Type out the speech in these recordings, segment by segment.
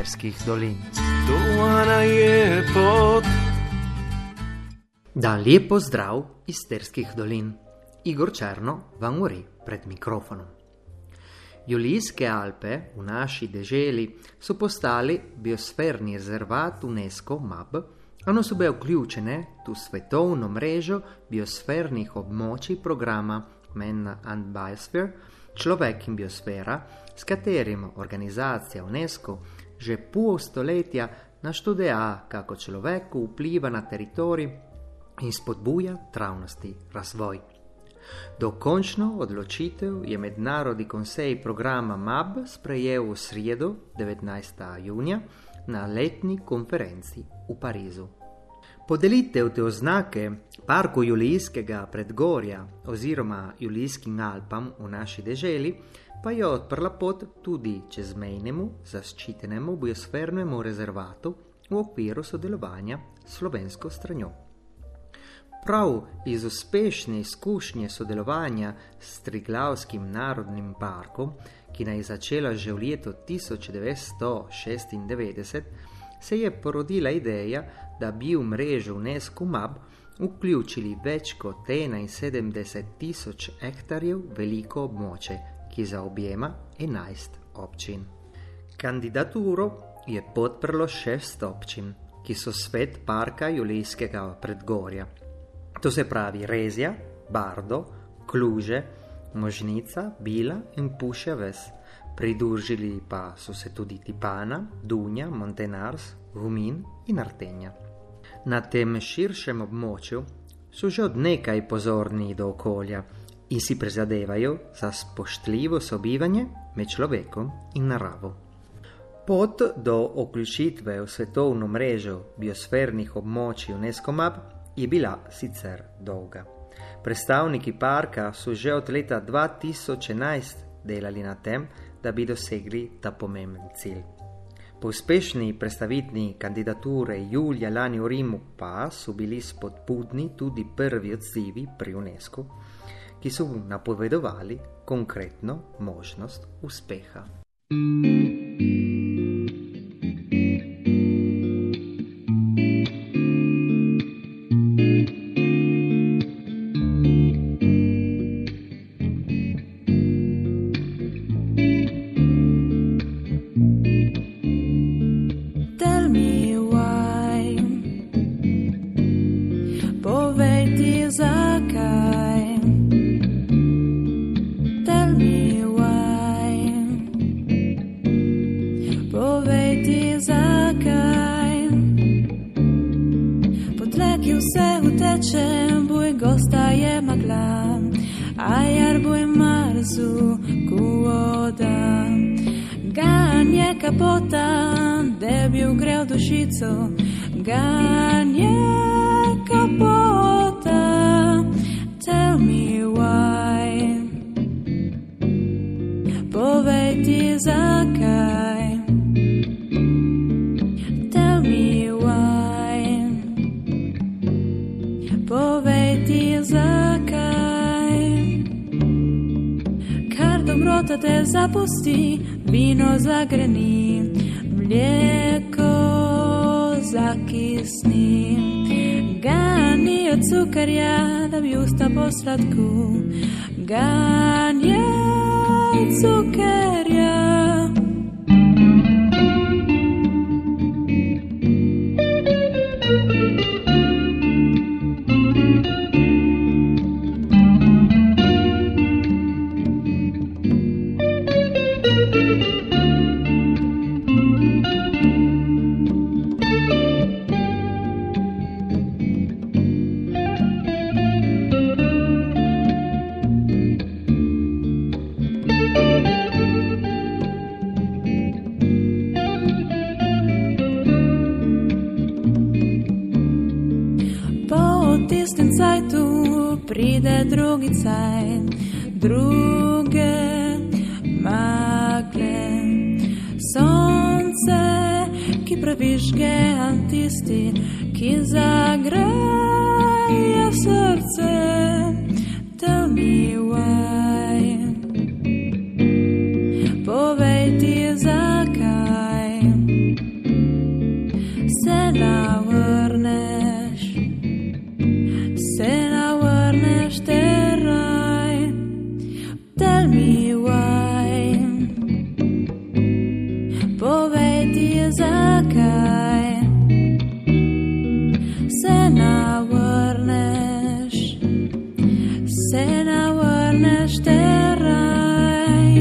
Sterskih dolin. Dovana je pot. Dan lijep pozdrav iz Sterskih dolin. Igor Černo vam govori pred mikrofonom. Julijske Alpe v naši deželi so postali biosferni rezervat UNESCO MAB, one so bile vključene v svetovno mrežo biosfernih območij programa Man and Biosphere, človek in biosfera, s katerim organizacija UNESCO že pol stoletja naštudija, kako človek vpliva na teritorij in spodbuja travnasti razvoj. Dokončno odločitev je mednarodni konsej programa MAB sprejel v sredo 19. junija na letni konferenci v Parizu. Podelitev te oznake Parku Julijskega predgorja oziroma Julijskim Alpam v naši deželi pa je odprla pot tudi čezmejnemu zaščitenemu biosfernemu rezervatu v okviru sodelovanja s slovensko stranjo. Prav iz uspešne izkušnje sodelovanja s Triglavskim narodnim parkom, ki naj začela že v letu 1996, se je porodila ideja, da bi v mrežo UNESCO MAB vključili več kot 71.000 hektarjev veliko območje, ki zaobjema 11 občin. Kandidaturo je podprlo 6 občin, ki so svet parka Julijskega predgorja. To se pravi Rezja, Bardo, Kluže, Možnica, Bila in Pušja ves. Pridružili pa so se tudi Tipana, Dunja, Montenars, Gumin in Artenja. Na tem širšem območju so že od nekaj pozorni do okolja in si prizadevajo za spoštljivo sobivanje med človekom in naravo. Pot do vključitve v svetovno mrežo biosfernih območij UNESCO MAB je bila sicer dolga. Predstavniki parka so že od leta 2011 delali na tem, da bi dosegli ta pomemben cilj. Po uspešni predstavitvi kandidature julija lani v Rimu pa so bili spodbudni tudi prvi odzivi pri UNESCO, ki so napovedovali konkretno možnost uspeha. Kapota, da bi ugrel dušico, ganje kapota, tell me why, povej ti zakaj, tell me why, povej ti zakaj, kar dobrota te zapusti, vino zagreni, mlijeko zakisni, gani od cukarja, da bi usta posladku, ganje cukarja. Pride drugi cajt, druge magle, sonce, ki previžge antisti, ki zagreje srce. Tell me why, povej ti zakaj, se navrneš teraj.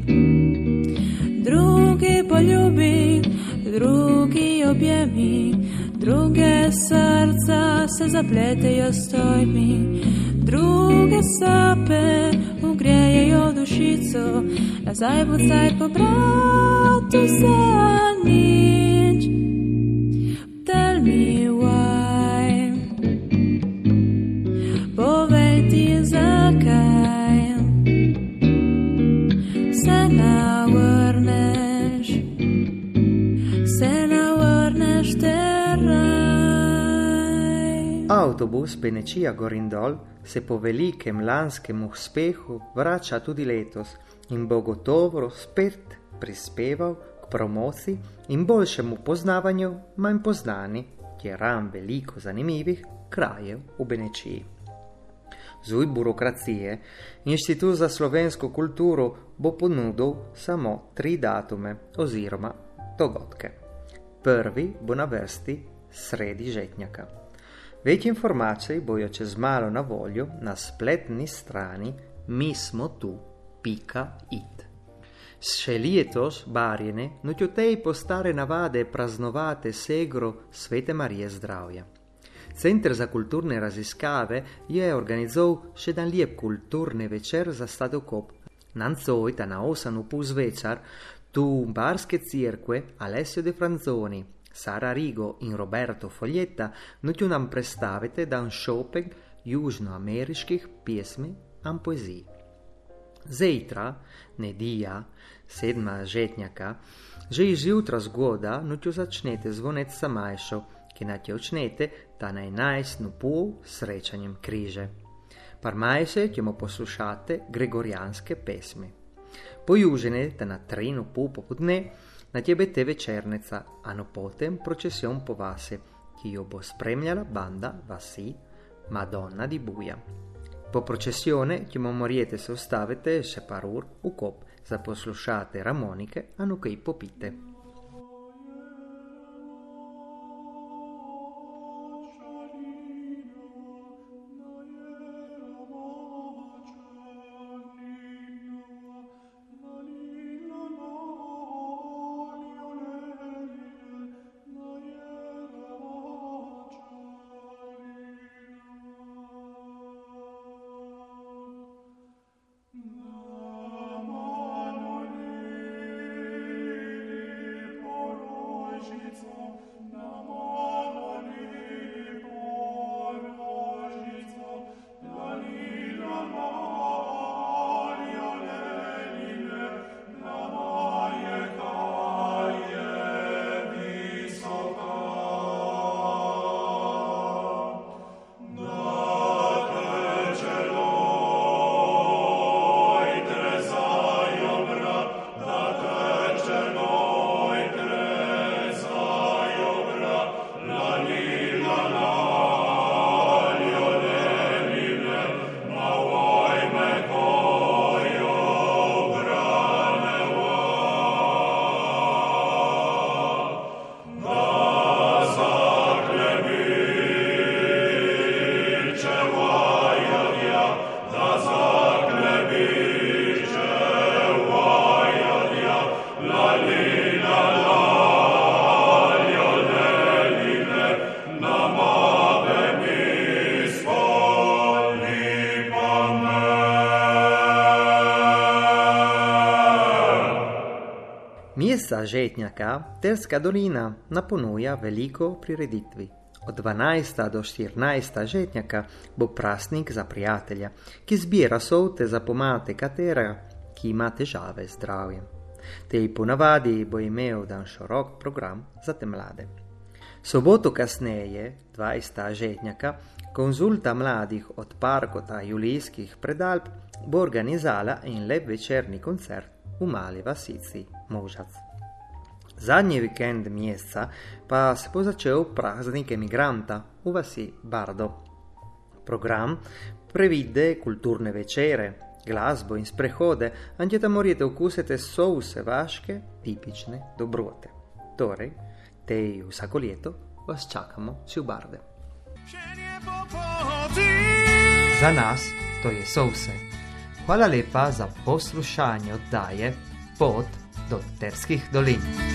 Drugi poljubi, drugi objemi, druge srca se zapletejo s tvojimi, druge sape ugrejejo dušico, nazaj pucaj po bratu za nič. Tell me why, povej ti zakaj se navrneš teraj. Autobus Benečija Gorindol se po velikem lanskem uspehu vrača tudi letos in bo gotovo spet prispeval k promociji in boljšemu poznavanju manj poznani, je ram veliko zanimivih krajev v Benečiji. Zuj burokracije, Inštitut za slovensko kulturo bo ponudil samo 3 datume oziroma dogodke. Prvi bo na vrsti sredi žetnjaka. Več informacij bojo čez malo na voljo na spletni strani mismotu.it. Še letos barjene nutjotej po stare navade praznovate segro Svete Marije zdravja. Center za kulturne raziskave je organizoval še dan lijep kulturni večer za Stadokop. Nanzojta na 8:30 zvečer tu Barske cirkve Alessio De Franzoni, Sara Rigo in Roberto Foglietta nutju nam predstavite dan šopek južnoameriških pjesmi in poezij. Zejtra, nedija, 7. žetnjaka, že izjutra zgoda nutju začnete zvonec samajšo, ki natje očnete ta na 11:30 srečanjem križe. Parmajše ćemo poslušate gregorijanske pesmi. Pojužene ta na 3:30 popodne na tebe te večernica, a no potem procesion po vasi, ki jo bo spremljala banda vasi Madonna di Buja. Po procesione ćemo morijete se ostavite še par ur v kop za poslušate ramonike, a no kaj popite. Mjesta žetnjaka Terska dolina naponuja veliko prireditvi. Od 12. do 14. žetnjaka bo praznik za prijatelja, ki zbira sote za pomagati katera, ki ima težave z zdravjem. Tej ponavadi bo imel dan širok program za te mlade. Soboto kasneje, 20. žetnjaka, konzulta mladih od Parkota Julijskih predalp bo organizala in lep večerni koncert v mali vasici Možac. Zadnji vikend mjeseca pa se bo začel praznik emigranta v vasi Bardo. Program previde kulturne večere, glasbo in sprehode, anche tam morete okusiti souse vaške tipične dobrote. Torej, tej vsako leto vas čakamo si v Barde. Za nas to je souse. Hvala lepa za poslušanje oddaje Pot do Terskih dolin.